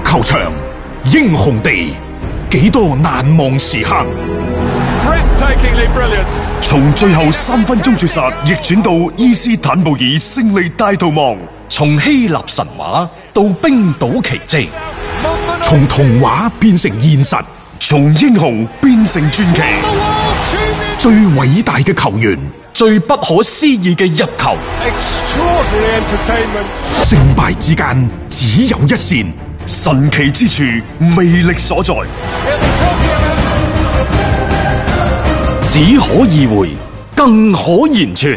球場，英雄地，幾多難忘時刻。 從最後3分鐘絕殺逆轉到伊斯坦布爾勝利大逃亡， 從希臘神話到冰島奇蹟， 從童話變成現實， 從英雄變成傳奇。 最偉大嘅球員， 最不可思議嘅入球， 勝敗之間只有一線， 神奇之處魅力所在， 只可意會，更可言傳。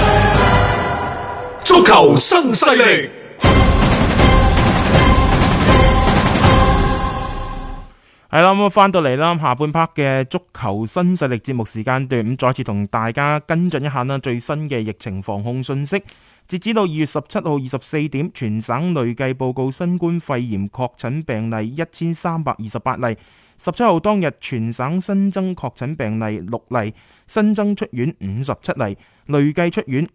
足球新勢力。 係啦，咁翻到嚟啦，下半 part 嘅足球新勢力節目時間段，咁再次同大家跟進一下啦最新嘅疫情防控信息。截止到2月17號24點，全省累計報告新冠肺炎確診病例1328例。17號當日全省新增確診病例6例，新增出院57例，累計出院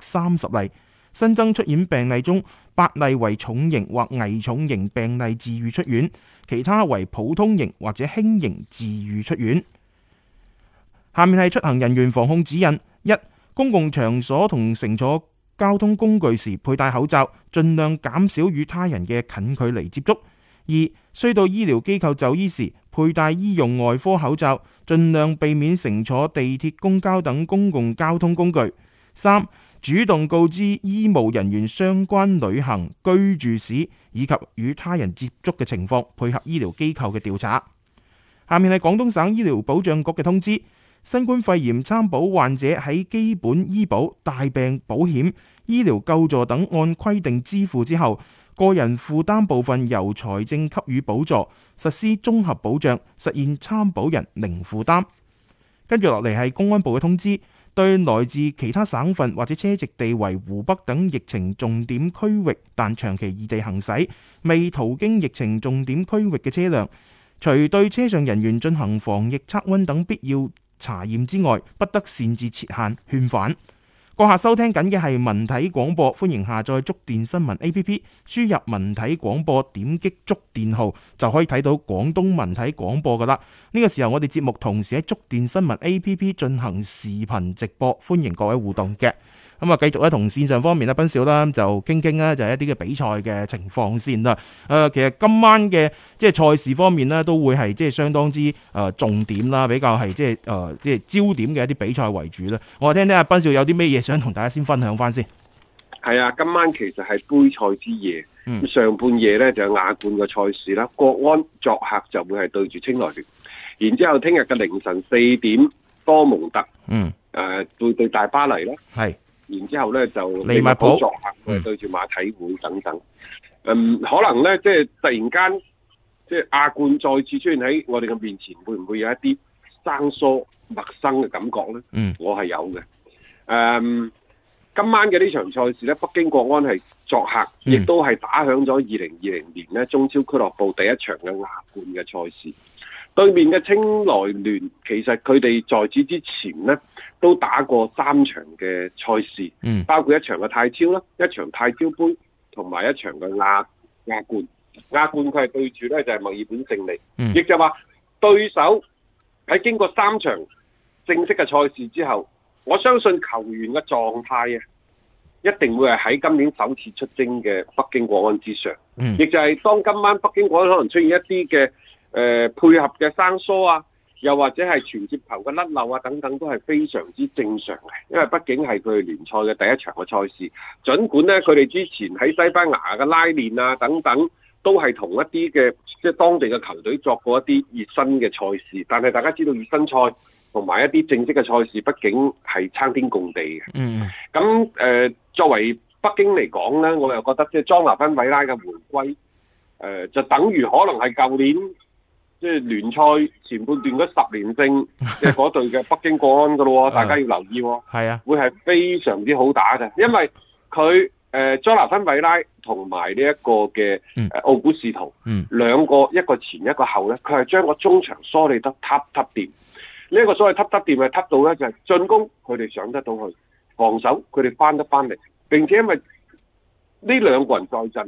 530例。新增出院病例中，8例為重型或危重型病例治愈出院，其他為普通型或者輕型治愈出院。下面係出行人員防控指引： 1. 公共場所同乘坐交通工具時佩戴口罩，盡量減少與他人嘅近距離接觸。 2. 需到醫療機構就醫時佩戴醫用外科口罩，盡量避免乘坐地鐵、公交等公共交通工具。 3. 主動告知醫務人員相關旅行、居住史以及與他人接觸嘅情況，配合醫療機構嘅調查。下面係廣東省醫療保障局嘅通知：新冠肺炎參保患者喺基本醫保、大病保險、醫療救助等按規定支付之後，個人負擔部分由財政給予補助，實施綜合保障，實現參保人零負擔。跟住落嚟係公安部嘅通知。對來自其他省份或者車籍地為湖北等疫情重點區域但長期異地行駛、未途經疫情重點區域嘅車輛，除對車上人員進行防疫測溫等必要查驗之外，不得擅自設限勸返。閣下收聽緊嘅係文體廣播，歡迎下載觸電新聞 APP， 輸入文體廣播，點擊觸電號就可以睇到廣東文體廣播噶啦。呢個時候我哋節目同時喺觸電新聞 APP 進行視頻直播，歡迎各位互動嘅。咁啊，繼續咧同線上方面咧，斌少啦就傾傾啦，就係一啲嘅比賽嘅情況先啦。其實今晚嘅即係賽事方面咧，都會係即係相當之重點啦，比較係即係焦點嘅一啲比賽為主啦。我聽聽阿斌少有啲咩嘢想同大家先分享翻先。 係啊，今晚其實係杯賽之夜，上半夜咧就有亞冠嘅賽事啦。國安作客就會係對住清萊聯，然之後聽日嘅凌晨4點，多蒙特對大巴黎啦。係。然之後咧就利物浦作客對住馬體會等等，可能咧即係突然間即係亞冠再次出現喺我哋嘅面前，會唔會有一啲生疏陌生嘅感覺咧？我係有嘅。今晚嘅呢場賽事咧，北京國安係作客，亦都係打響咗2020年咧中超俱樂部第一場嘅亞冠嘅賽事。對面嘅清萊聯，其實佢哋在此之前呢都打過3場嘅賽事，包括一場嘅泰超啦，一場泰超杯，同埋一場嘅亞冠。亞冠佢係對住咧就係墨爾本勝利，亦就話對手喺經過3場正式嘅賽事之後，我相信球員嘅狀態啊，一定會係喺今年首次出征嘅北京國安之上。亦就係當今晚北京國安可能出現一啲嘅配合嘅生疏啊，又或者係傳接球嘅甩漏啊等等，都係非常之正常嘅，因為畢竟係佢哋聯賽嘅第一場嘅賽事。儘管呢，佢哋之前喺西班牙嘅拉練啊等等，都係同一啲嘅即係當地嘅球隊作過一啲熱身嘅賽事，但係大家知道熱身賽同埋一啲正式嘅賽事，畢竟係差天共地嘅。咁作為北京嚟講呢，我又覺得即係莊拿芬韋拉嘅回歸，就等於可能係舊年即係聯賽前半段嗰10連勝嘅嗰隊嘅北京國安噶咯，大家要留意。係啊，會係非常之好打嘅，因為佢莊拿芬韋拉同埋呢一個嘅奧古斯圖兩個，一個前一個後咧，佢係將個中場梳理得揼掂。呢一個所謂揼掂係揼到咧，就係進攻佢哋上得到去，防守佢哋翻得翻嚟，並且因為呢兩個人在陣，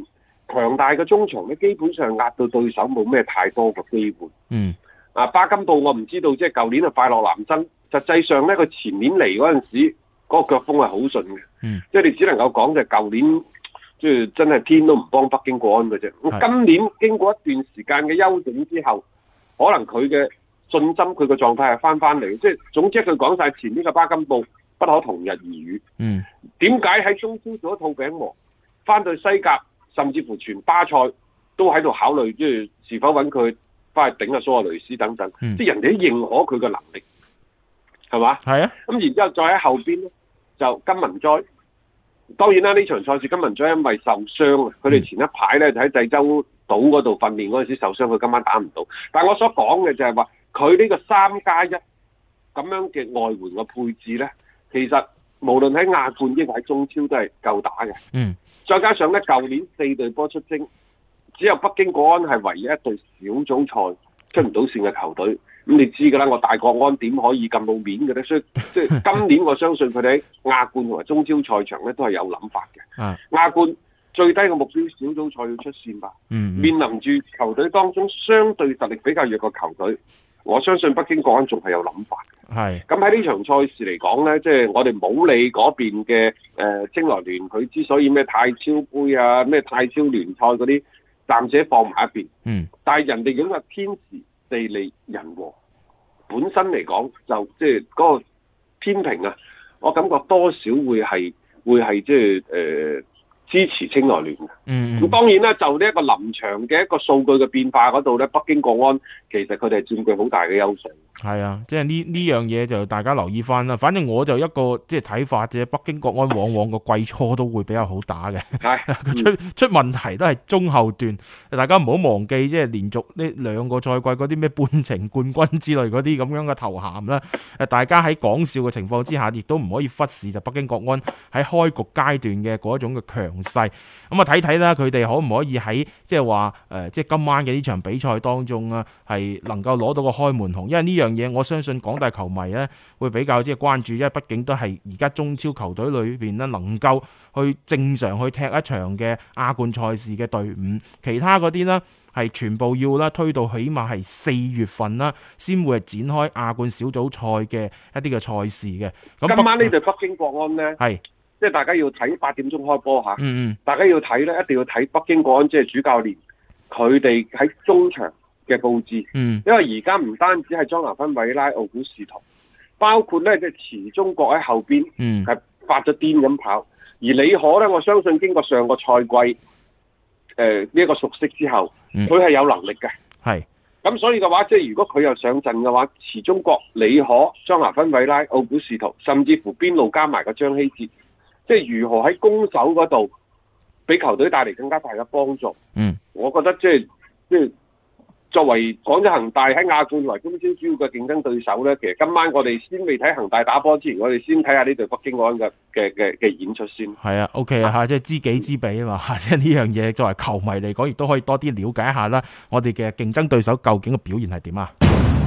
強大嘅中場咧，基本上壓到對手冇咩太多嘅機會。巴金布我唔知道，即係舊年係快樂男生，實際上咧佢前年嚟嗰陣時，嗰個腳風係好順嘅。即係你只能夠講就係舊年，即係真係天都唔幫北京國安嘅啫。今年經過一段時間嘅休整之後，可能佢嘅信心、佢嘅狀態係翻嚟。即係總之佢講晒前呢個巴金布不可同日而語。點解喺中超做一套餅王，翻到西甲，甚至乎全巴塞都喺度考慮，即係是否揾佢翻去頂下蘇亞雷斯等等。即係人哋都認可佢嘅能力，係嘛？係啊。咁然之後再喺後邊咧，就金文哉。當然啦，呢場賽事金文哉因為受傷啊，佢哋前一排咧就喺濟州島嗰度訓練嗰陣時受傷，佢今晚打唔到。但係我所講嘅就係話，佢呢個3+1咁樣嘅外援嘅配置咧，其實無論喺亞冠抑或喺中超都係夠打嘅。再加上咧，舊年4隊波出征，只有北京國安係唯一一隊小組賽出唔到線嘅球隊。咁你知㗎啦，我大國安點可以咁冇面嘅咧？所以即係今年我相信佢哋喺亞冠同埋中超賽場咧都係有諗法嘅。亞冠最低嘅目標小組賽要出線吧。面臨住球隊當中相對實力比較弱嘅球隊，我相信北京國安仲係有諗法嘅。咁喺呢場賽事嚟講咧，即係我哋冇理嗰邊嘅青來聯，佢之所以咩泰超杯啊、咩泰超聯賽嗰啲，暫且放埋一邊。但係人哋咁嘅天時地利人和，本身嚟講就即係嗰個天平啊，我感覺多少會係即係支持青來聯嘅。咁當然啦，就呢一個臨場嘅一個數據嘅變化嗰度咧，北京國安其實佢哋係佔據好大嘅優勢。係啊，即係呢樣嘢就大家留意翻啦。反正我就一個即係睇法啫，北京國安往往個季初都會比較好打嘅，出問題都係中後段。大家唔好忘記，即係連續呢2個賽季嗰啲咩半程冠軍之類嗰啲咁樣嘅頭銜啦。大家喺講笑嘅情況之下，亦都唔可以忽視就北京國安喺開局階段嘅嗰種嘅強勢。咁啊睇睇啦，佢哋可唔可以喺即係話即係今晚嘅呢場比賽當中啊，係能夠攞到個開門紅，因為呢樣嘢我相信廣大球迷咧會比較即係關注，因為畢竟都係而家中超球隊裏邊咧能夠去正常去踢一場嘅亞冠賽事嘅隊伍，其他嗰啲呢係全部要啦推到起碼係4月份啦，先會係展開亞冠小組賽嘅一啲嘅賽事嘅。咁今晚呢隊北京國安呢，係即係大家要睇8點鐘開波吓，大家要睇呢，一定要睇北京國安即係主教練佢哋喺中場嘅佈置，因為而家唔單止係莊拿芬、韋拉、奧古士圖，包括咧即係池中國喺後邊係發咗癲咁跑，而李可咧，我相信經過上個賽季呢一個熟悉之後，佢係有能力嘅，係咁所以嘅話，即係如果佢又上陣嘅話，池中國、李可、莊拿芬、韋拉、奧古士圖，甚至乎邊路加埋個張希哲，即係如何喺攻守嗰度俾球隊帶嚟更加大嘅幫助。我覺得即係作為廣州恒大喺亞冠為中超主要嘅競爭對手咧，其實今晚我哋先未睇恒大打波之前，我哋先睇下呢隊北京國安嘅演出先。係啊 ，OK 啊，即係知己知彼啊嘛，即係呢樣嘢作為球迷嚟講，亦都可以多啲了解一下啦。我哋嘅競爭對手究竟嘅表現係點啊？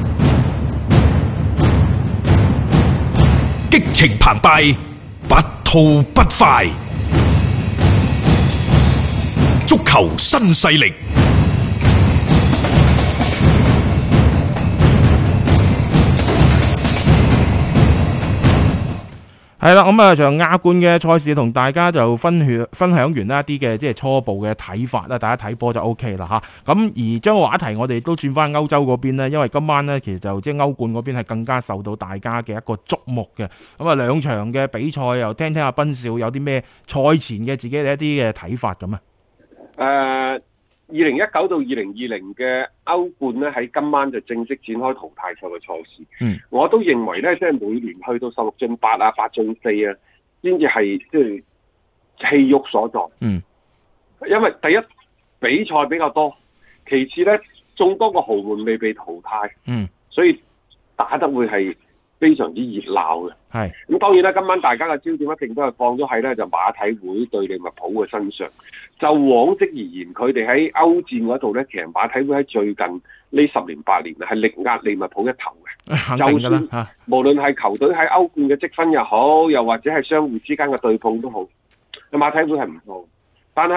激情澎湃，不吐不快，足球新勢力。 係啦，咁啊，就亞冠嘅賽事同大家就分享完啦一啲嘅即係初步嘅睇法啦，大家睇波就 OK 啦吓。咁而將個話題我哋都轉翻歐洲嗰邊咧，因為今晚呢，其實就即係歐冠嗰邊係更加受到大家嘅一個矚目嘅。咁啊2場嘅比賽又聽阿斌少有啲咩賽前嘅自己嘅一啲嘅睇法咁啊。 2019到2020嘅歐冠咧，喺今晚就正式展開淘汰賽嘅賽事。我都認為咧，即係每年去到16進8啊、8進4啊，先至係即係氣鬱所在。因為第一比賽比較多，其次咧眾多個豪門未被淘汰，所以打得會係非常之熱鬧嘅。咁當然啦，今晚大家嘅焦點一定都係放咗喺咧就馬體會對利物浦嘅身上。就往績而言，佢哋喺歐戰嗰度咧，其實馬體會喺最近呢10年8年係力壓利物浦一頭嘅。就算無論係球隊喺歐冠嘅積分又好，又或者係相互之間嘅對碰都好，馬體會係唔錯。但係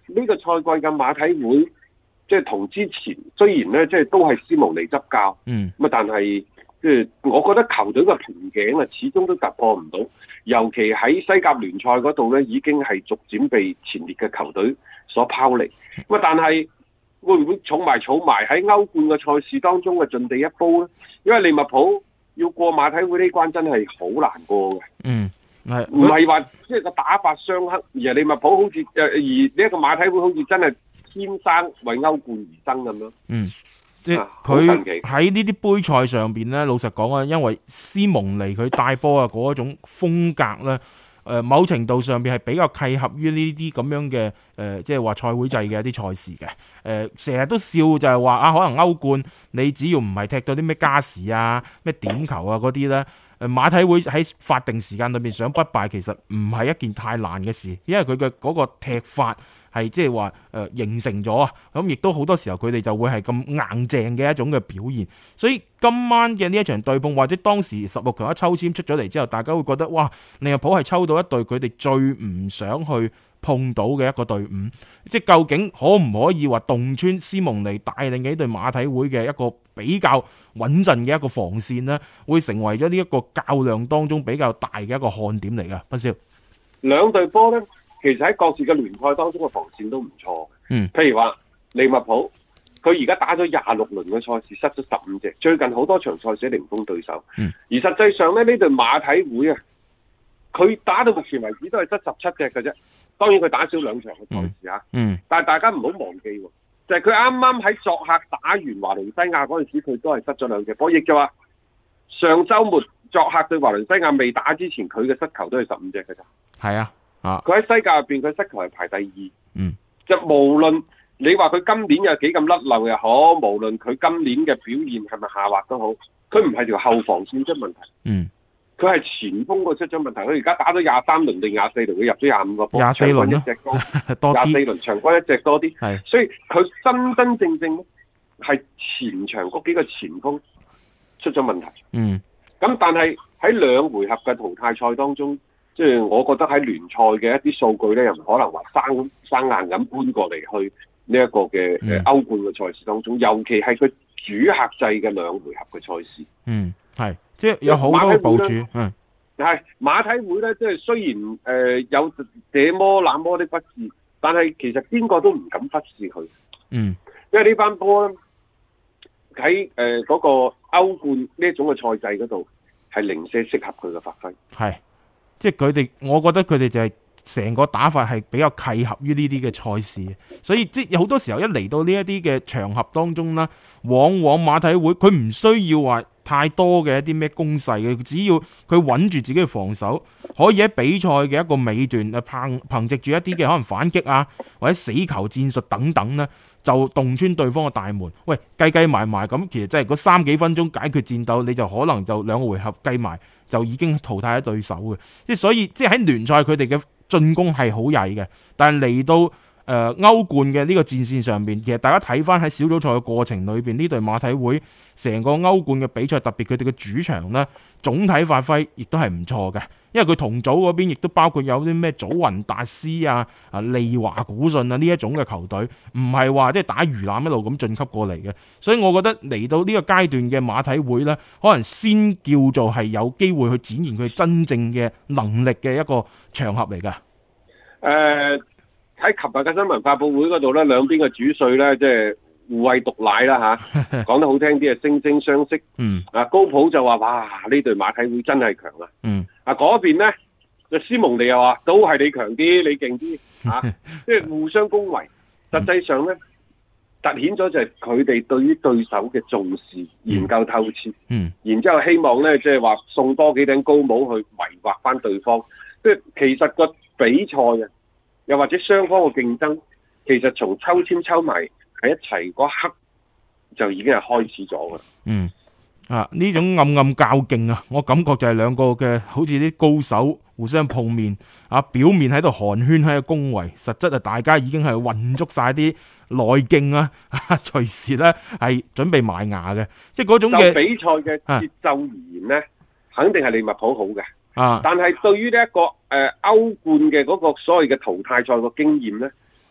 呢個賽季嘅馬體會，即係同之前雖然咧即係都係斯蒙尼執教，咁啊但係即係我覺得球隊嘅瓶頸啊，始終都突破唔到，尤其喺西甲聯賽嗰度咧，已經係逐漸被前列嘅球隊所拋離。咁啊但係會唔會儲埋喺歐冠嘅賽事當中嘅盡地一煲咧？因為利物浦要過馬體會呢關真係好難過嘅。唔係話即係個打法相克，而係利物浦好似而呢一個馬體會好似真係天生為歐冠而生咁樣。 即係佢喺呢啲杯賽上邊咧，老實講啊，因為斯蒙尼佢帶波啊嗰種風格咧，某程度上邊係比較契合於呢啲咁樣嘅即係話賽會制嘅一啲賽事嘅。成日都笑就係話啊，可能歐冠你只要唔係踢到啲咩加時啊、咩點球啊嗰啲咧。馬體會喺法定時間裏面想不敗，其實唔係一件太難嘅事，因為佢嘅嗰個踢法係即係話形成咗啊，咁亦都好多時候佢哋就會係咁硬淨嘅一種嘅表現。所以今晚嘅呢一場對碰，或者當時16強一抽籤出咗嚟之後，大家會覺得哇，利物浦係抽到一隊佢哋最唔想去碰到嘅一個隊伍，即係究竟可唔可以話洞穿斯蒙尼帶領嘅呢隊馬體會嘅一個比較穩陣嘅一個防線呢，會成為咗呢一個較量當中比較大嘅一個看點嚟㗎。斌少， 兩隊波呢，其實喺各自嘅聯賽當中嘅防線都唔錯。譬如話利物浦，佢而家打咗26輪嘅賽事，失咗15隻，最近好多場賽事零封對手。而實際上呢，呢隊馬體會啊，佢打到目前為止都係得17隻嘅啫。當然佢打少兩場嘅賽事啊，但係大家唔好忘記，就係佢啱啱喺作客打完華倫西亞嗰陣時，佢都係失咗2隻波。亦就話上週末作客對華倫西亞未打之前，佢嘅失球都係15隻嘅咋。係啊，佢喺西甲入邊，佢失球係排第2。就無論你話佢今年有幾咁甩漏又好，無論佢今年嘅表現係咪下滑都好，佢唔係條後防線出問題。佢係前鋒個出咗問題，佢而家打咗23輪定24輪，佢入咗25個波，24輪一隻多，24輪場均一隻多啲，所以佢真正咧係前場嗰幾個前鋒出咗問題。咁但係喺2回合嘅淘汰賽當中，即係我覺得喺聯賽嘅一啲數據咧，又唔可能話生硬咁搬過嚟去呢一個嘅歐冠嘅賽事當中，尤其係佢主客制嘅2回合嘅賽事。 係，即係有好多部署。 係馬體會咧，即係雖然有這麼那麼的不是，但係其實邊個都唔敢忽視佢。因為呢班波咧喺嗰個歐冠呢一種嘅賽制嗰度係零舍適合佢嘅發揮。係， 即係佢哋，我覺得佢哋就係成個打法係比較契合於呢啲嘅賽事，所以即係有好多時候一嚟到呢一啲嘅場合當中啦，往往馬體會佢唔需要話太多嘅一啲咩攻勢嘅，只要佢穩住自己嘅防守，可以喺比賽嘅一個尾段憑藉住一啲嘅可能反擊啊，或者死球戰術等等呢，就洞穿對方嘅大門。喂，計埋咁，其實真係嗰3幾分鐘解決戰鬥，你就可能就2個回合計埋就已經淘汰咗對手嘅。即係所以，即係喺聯賽佢哋嘅進攻係好曳嘅，但係嚟到歐冠嘅呢個戰線上面，其實大家睇翻喺小組賽嘅過程裏邊，呢隊馬體會成個歐冠嘅比賽，特別佢哋嘅主場呢，總體發揮亦都係唔錯嘅。因為佢同組嗰邊亦都包括有啲咩祖雲達斯啊、利華古信啊呢一種嘅球隊，唔係話即係打魚腩一路咁晉級過嚟嘅。所以我覺得嚟到呢個階段嘅馬體會呢，可能先叫做係有機會去展現佢真正嘅能力嘅一個場合嚟㗎。 喺琴日嘅新聞發佈會嗰度咧，兩邊嘅主帥咧，即係互餵毒奶啦嚇，講得好聽啲係惺惺相惜。高普就話：哇，呢隊馬體會真係強啊！嗰邊咧，就斯蒙尼又話：都係你強啲，你勁啲嚇，即係互相恭維。實際上咧，凸顯咗就係佢哋對於對手嘅重視、研究透徹。然之後希望咧，即係話送多幾頂高帽去迷惑翻對方。即係其實個比賽啊，又或者雙方嘅競爭，其實從抽籤抽埋喺一齊嗰刻就已經係開始咗噶。 呢種暗暗較勁啊，我感覺就係兩個嘅好似啲高手互相碰面啊，表面喺度寒暄喺度恭維，實質啊大家已經係混足晒啲內勁啊，隨時咧係準備埋牙嘅，即係嗰種嘅比賽嘅節奏而言咧，肯定係利物浦好嘅。但係對於呢一個歐冠嘅嗰個所謂嘅淘汰賽個經驗咧，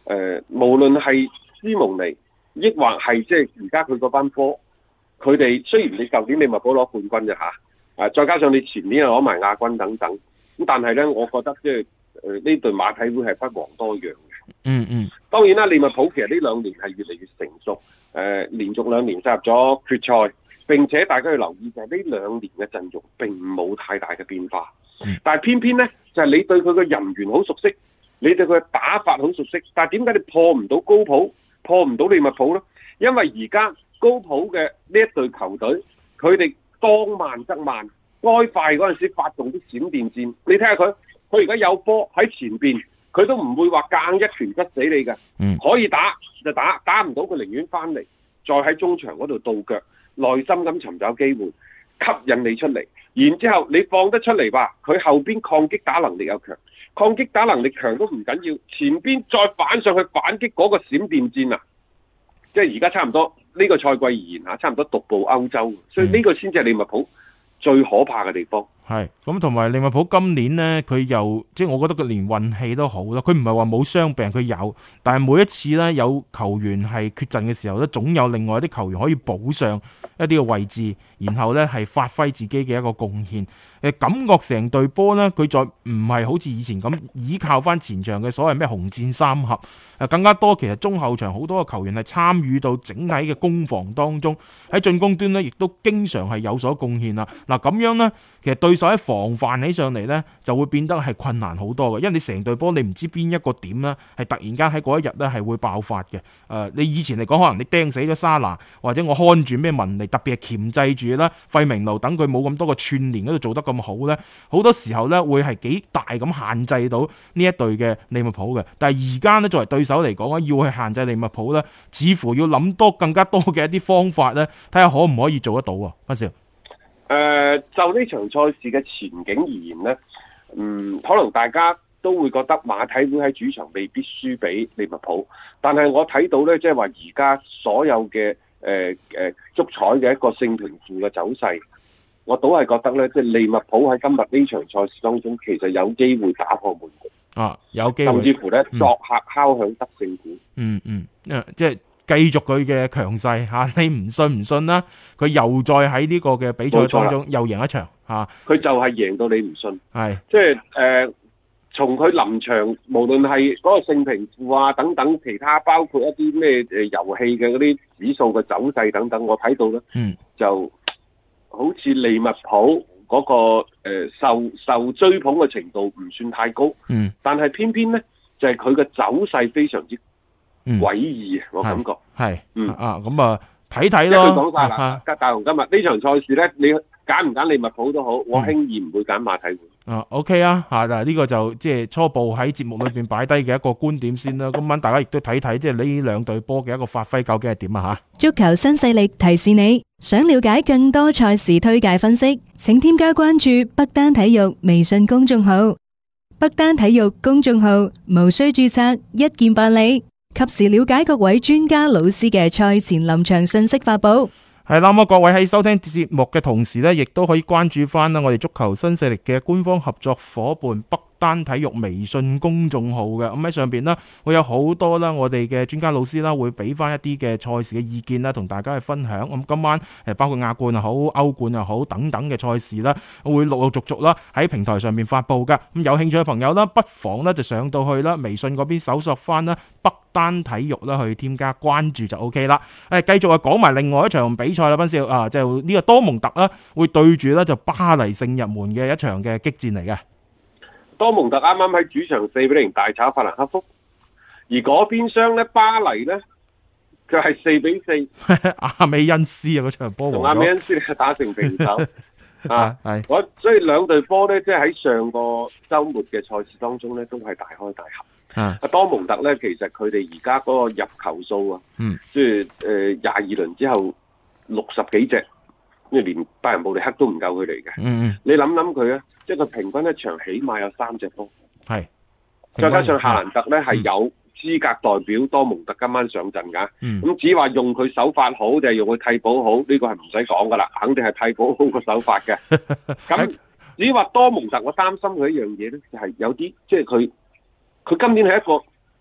無論係斯蒙尼，抑或係即係而家佢嗰班波，佢哋雖然你舊年利物浦攞冠軍啫嚇，再加上你前年又攞埋亞軍等等，咁但係咧，我覺得即係呢隊馬體會係不遑多讓嘅。當然啦，利物浦其實呢2年係越嚟越成熟，連續2年進入咗決賽，並且大家要留意就係呢2年嘅陣容並冇太大嘅變化。但係偏偏咧，就係你對佢嘅人員好熟悉，你對佢嘅打法好熟悉，但係點解你破唔到高普，破唔到利物浦咧？因為而家高普嘅呢一隊球隊，佢哋當慢則慢，該快嗰陣時發動啲閃電戰。你睇下佢而家有波喺前邊，佢都唔會話硬一拳窒死你嘅。可以打就打，打唔到佢寧願翻嚟，再喺中場嗰度倒腳，耐心咁尋找機會，吸引你出嚟。然之後你放得出嚟吧，佢後邊抗擊打能力又強，抗擊打能力強都唔緊要，前邊再反上去反擊嗰個閃電戰啊！即係而家差唔多呢個賽季而言嚇，差唔多獨步歐洲，所以呢個先至係利物浦最可怕嘅地方。 係咁，同埋利物浦今年呢，佢又即係我覺得佢連運氣都好啦。佢唔係話冇傷病，佢有，但係每一次呢，有球員係缺陣嘅時候呢，總有另外一啲球員可以補上一啲嘅位置，然後呢係發揮自己嘅一個貢獻。感覺成隊波呢，佢再唔係好似以前咁依靠翻前場嘅所謂咩紅箭三俠，更加多其實中後場好多嘅球員係參與到整體嘅攻防當中，喺進攻端呢，亦都經常係有所貢獻啦。嗱咁樣呢，其實對手喺防範起上嚟呢，就會變得係困難好多嘅，因為你成隊波你唔知邊一個點呢，係突然間喺嗰一日呢係會爆發嘅。你以前嚟講可能你釘死咗沙拿，或者我看住咩文尼，特別係鉗制住啦費明路等佢冇咁多個串連嗰度做得咁好呢，好多時候呢會係幾大咁限制到呢一隊嘅利物浦嘅。但係而家呢，作為對手嚟講要去限制利物浦呢，似乎要諗多更加多嘅一啲方法呢，睇下可唔可以做得到啊？阿少。 就呢場賽事嘅前景而言呢，可能大家都會覺得馬體會喺主場未必輸俾利物浦，但係我睇到呢，即係話而家所有嘅足彩嘅一個勝平負嘅走勢，我都係覺得呢，即係利物浦喺今日呢場賽事當中，其實有機會打破悶局， 有機會， 甚至乎呢，作客敲響得勝鼓， 即係。繼續佢嘅強勢嚇，你唔信唔信啦？佢又再喺呢個嘅比賽當中又贏一場嚇， 佢就係贏到你唔信。 係即係從佢臨場，無論係嗰個勝平負啊等等，其他包括一啲咩遊戲嘅嗰啲指數嘅走勢等等，我睇到咧，就好似利物浦嗰個受追捧嘅程度唔算太高，但係偏偏咧就係佢嘅走勢非常之詭異，我感覺係，咁啊睇睇咯。 講晒啦，大雄今日呢場賽事咧，你揀唔揀利物浦都好，我輕易唔會揀馬體會。 OK 啊，嗱呢個就即係初步喺節目裏邊擺低嘅一個觀點先啦。今晚大家亦都睇睇，即係呢兩隊波嘅一個發揮究竟係點啊吓。足球新勢力提示你，想了解更多賽事推介分析，請添加關注北單體育微信公眾號。北單體育公眾號無需註冊，一鍵辦理。及時了解各位專家老師嘅賽前臨場信息發布。係啦，咁各位喺收聽節目嘅同時呢，亦都可以關注翻啦我哋足球新勢力嘅官方合作夥伴北單體育微信公眾號嘅。咁喺上邊呢，會有好多啦，我哋嘅專家老師啦，會俾翻一啲嘅賽事嘅意見啦，同大家去分享。咁今晚包括亞冠又好、歐冠又好等等嘅賽事啦，會陸陸續續啦喺平台上面發布噶。咁有興趣嘅朋友啦，不妨呢就上到去啦，微信嗰邊搜索翻啦北單體育啦，去添加關注就 OK 啦。繼續啊，講埋另外一場比賽啦，斌少啊，就呢個多蒙特啦，會對住咧就巴黎聖日門嘅一場嘅激戰嚟嘅。 多蒙特啱啱喺主場4-0大炒法蘭克福，而嗰邊廂咧巴黎咧佢係4-4， 阿美恩斯啊嗰場波同阿美恩斯打成平手係， 所以兩隊波咧即係喺上個週末嘅賽事當中咧都係大開大合。多蒙特咧其實佢哋而家嗰個入球數啊，即係22輪之後60幾隻。因為連拜仁慕尼黑都唔夠佢哋嘅，你諗諗佢啊，即係佢平均一場起碼有3隻波，係，再加上夏蘭特咧係有資格代表多蒙特今晚上陣噶，咁只話用佢手法好定係用佢替補好，呢個係唔使講噶啦，肯定係替補好個手法嘅。咁只話多蒙特，我擔心佢一樣嘢咧，就係有啲即係佢今年係一個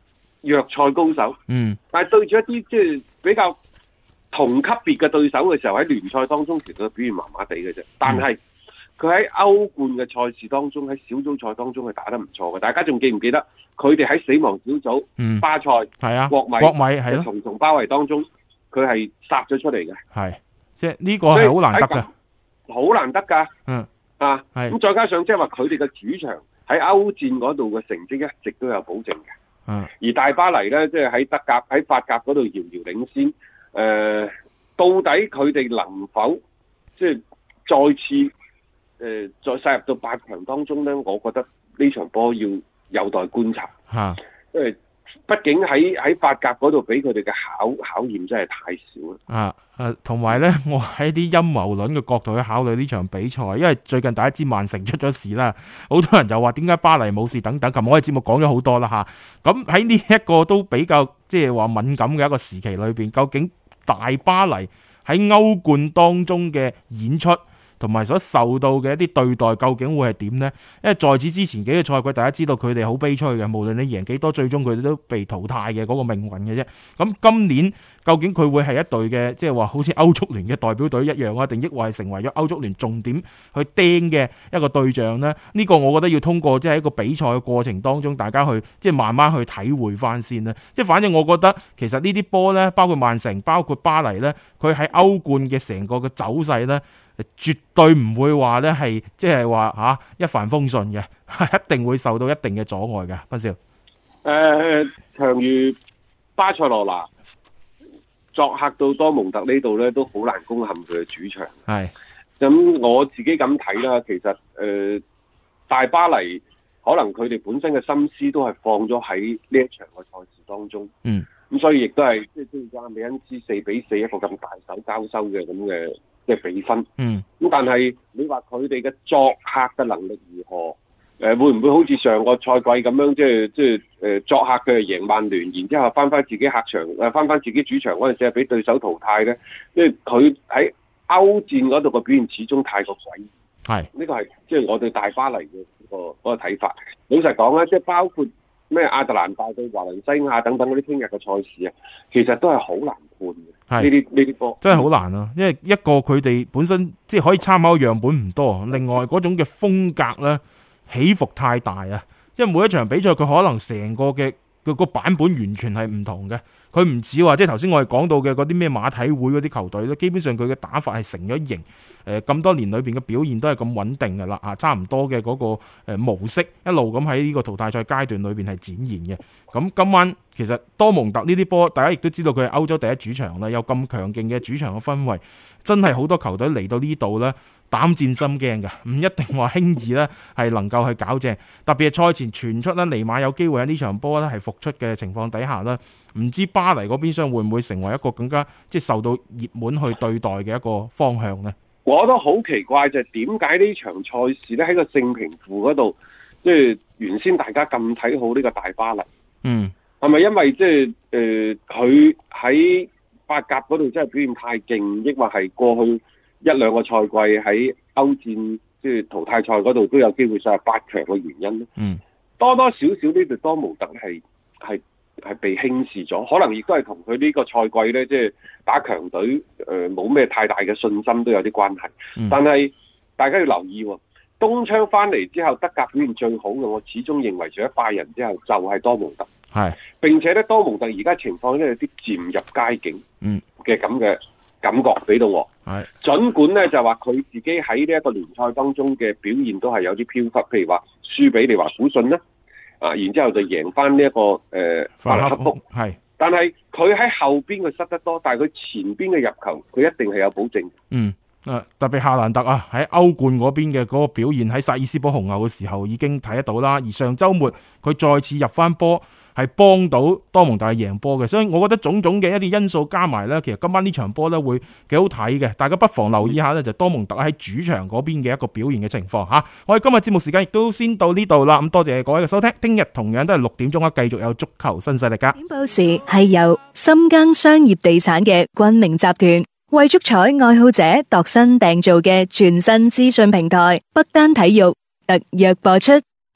弱賽高手，但係對住一啲即係比較同級別嘅對手嘅時候，喺聯賽當中其實表現麻麻地嘅啫。但係佢喺歐冠嘅賽事當中，喺小組賽當中係打得唔錯嘅。大家仲記唔記得佢哋喺死亡小組，巴塞係啊，國米係重重包圍當中，佢係殺咗出嚟嘅。係，即係呢個係好難得嘅，好難得㗎。咁再加上即係話佢哋嘅主場喺歐戰嗰度嘅成績一直都有保證嘅。而大巴黎咧，即係喺德甲、喺法甲嗰度遙遙領先。到底佢哋能否即係再次再殺入到8強當中咧？我覺得呢場波要有待觀察。因為畢竟喺法甲嗰度俾佢哋嘅考驗真係太少啦。同埋咧，我喺啲陰謀論嘅角度去考慮呢場比賽，因為最近大家知曼城出咗事啦，好多人又話點解巴黎冇事等等。琴日我哋節目講咗好多啦吓。咁喺呢一個都比較即係話敏感嘅一個時期裏邊，究竟大巴黎喺歐冠當中嘅演出同埋所受到嘅一啲對待究竟會係點呢？因為在此之前幾個賽季，大家知道佢哋好悲催嘅，無論你贏幾多，最終佢哋都被淘汰嘅嗰個命運嘅啫。咁今年究竟佢會係一隊嘅，即係話好似歐足聯嘅代表隊一樣啊，定抑或係成為咗歐足聯重點去盯嘅一個對象呢？呢個我覺得要通過即係一個比賽嘅過程當中，大家去即係慢慢去體會翻先啦。即係反正我覺得其實呢啲波呢，包括曼城、包括巴黎呢，佢喺歐冠嘅成個嘅走勢呢，絕對唔會話咧係即係話一帆風順嘅，一定會受到一定嘅阻礙嘅。斌少， 強如巴塞羅那作客到多蒙特呢度咧，都好難攻陷佢嘅主場。係咁，我自己咁睇啦。其實大巴黎可能佢哋本身嘅心思都係放咗喺呢一場嘅賽事當中。咁所以亦都係即係加美恩斯4-4一個咁大手交收嘅咁嘅即係比分。咁但係你話佢哋嘅作客嘅能力如何？會唔會好似上個賽季咁樣，即係作客嘅贏曼聯，然之後翻自己客場，翻自己主場嗰陣時係俾對手淘汰咧？因為佢喺歐戰嗰度嘅表現始終太過詭異。係呢個係即係我對大巴黎嘅嗰個睇法。老實講咧，即係包括咩亞特蘭大對華倫西亞等等嗰啲聽日嘅賽事啊，其實都係好難判嘅。呢啲波真係好難啊！因為一個佢哋本身即係可以參考嘅樣本唔多，另外嗰種嘅風格咧起伏太大啊！因為每一場比賽佢可能成個嘅個版本完全係唔同嘅，佢唔似話即係頭先我哋講到嘅嗰啲咩馬體會嗰啲球隊咧，基本上佢嘅打法係成咗型，咁多年裏邊嘅表現都係咁穩定㗎啦，差唔多嘅嗰個模式一路咁喺呢個淘汰賽階段裏邊係展現嘅。咁今晚其實多蒙特呢啲波，大家亦都知道佢係歐洲第一主場啦，有咁強勁嘅主場嘅氛圍，真係好多球隊嚟到呢度咧膽戰心驚嘅，唔一定話輕易咧係能夠去搞正。特別係賽前傳出咧尼馬有機會喺呢場波咧係復出嘅情況底下咧，唔知巴黎嗰邊廂會唔會成為一個更加即係受到熱門去對待嘅一個方向呢？ 我都好奇怪就係點解呢場賽事咧喺個勝平負嗰度，即係原先大家咁睇好呢個大巴黎，係咪因為即係佢喺法甲嗰度真係表現太勁，抑或係過去一兩個賽季喺歐戰即係淘汰賽嗰度都有機會上入8強嘅原因咧？多多少少呢隊多蒙特係被輕視咗，可能亦都係同佢呢個賽季咧，即係打強隊冇咩太大嘅信心都有啲關係。但係大家要留意，冬窗翻嚟之後，德甲表現最好嘅，我始終認為除咗拜仁之後就係多蒙特。並且咧，多蒙特而家情況咧有啲漸入佳境嘅咁嘅感覺俾到我。儘管咧就話佢自己喺呢一個聯賽當中嘅表現都係有啲飄忽，譬如話輸俾利華古遜啦，然之後就贏翻呢一個法蘭克福。但係佢喺後邊佢失得多，但係佢前邊嘅入球佢一定係有保證。 特別夏蘭特啊，喺歐冠嗰邊嘅嗰個表現喺薩爾斯堡紅牛嘅時候已經睇得到啦。而上週末佢再次入翻波，係幫到多蒙特贏波嘅。所以我覺得種種嘅一啲因素加埋呢，其實今晚呢場波呢會幾好睇嘅。大家不妨留意一下呢，就多蒙特喺主場嗰邊嘅一個表現嘅情況嚇。我哋今日節目時間亦都先到呢度啦。咁多謝各位嘅收聽，聽日同樣都係6點鐘繼續有足球新勢力㗎。 點報時係由深耕商業地產嘅君明集團為足彩愛好者度身訂造嘅全新資訊平台北單體育特約播出。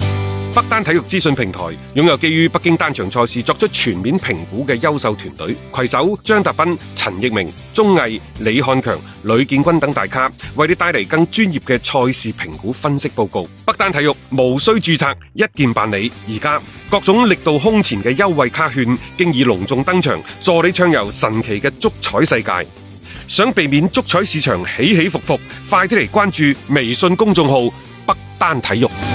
北單體育資訊平台擁有基於北京單場賽事作出全面評估嘅優秀團隊，攜手張達斌、陳奕明、鐘毅、李漢強、呂建軍等大咖，為你帶嚟更專業嘅賽事評估分析報告。北單體育無需註冊，一鍵辦理。而家各種力度空前嘅優惠卡券經已隆重登場，助你暢遊神奇嘅足彩世界。想避免足彩市場起起伏伏，快啲嚟關注微信公眾號北單體育。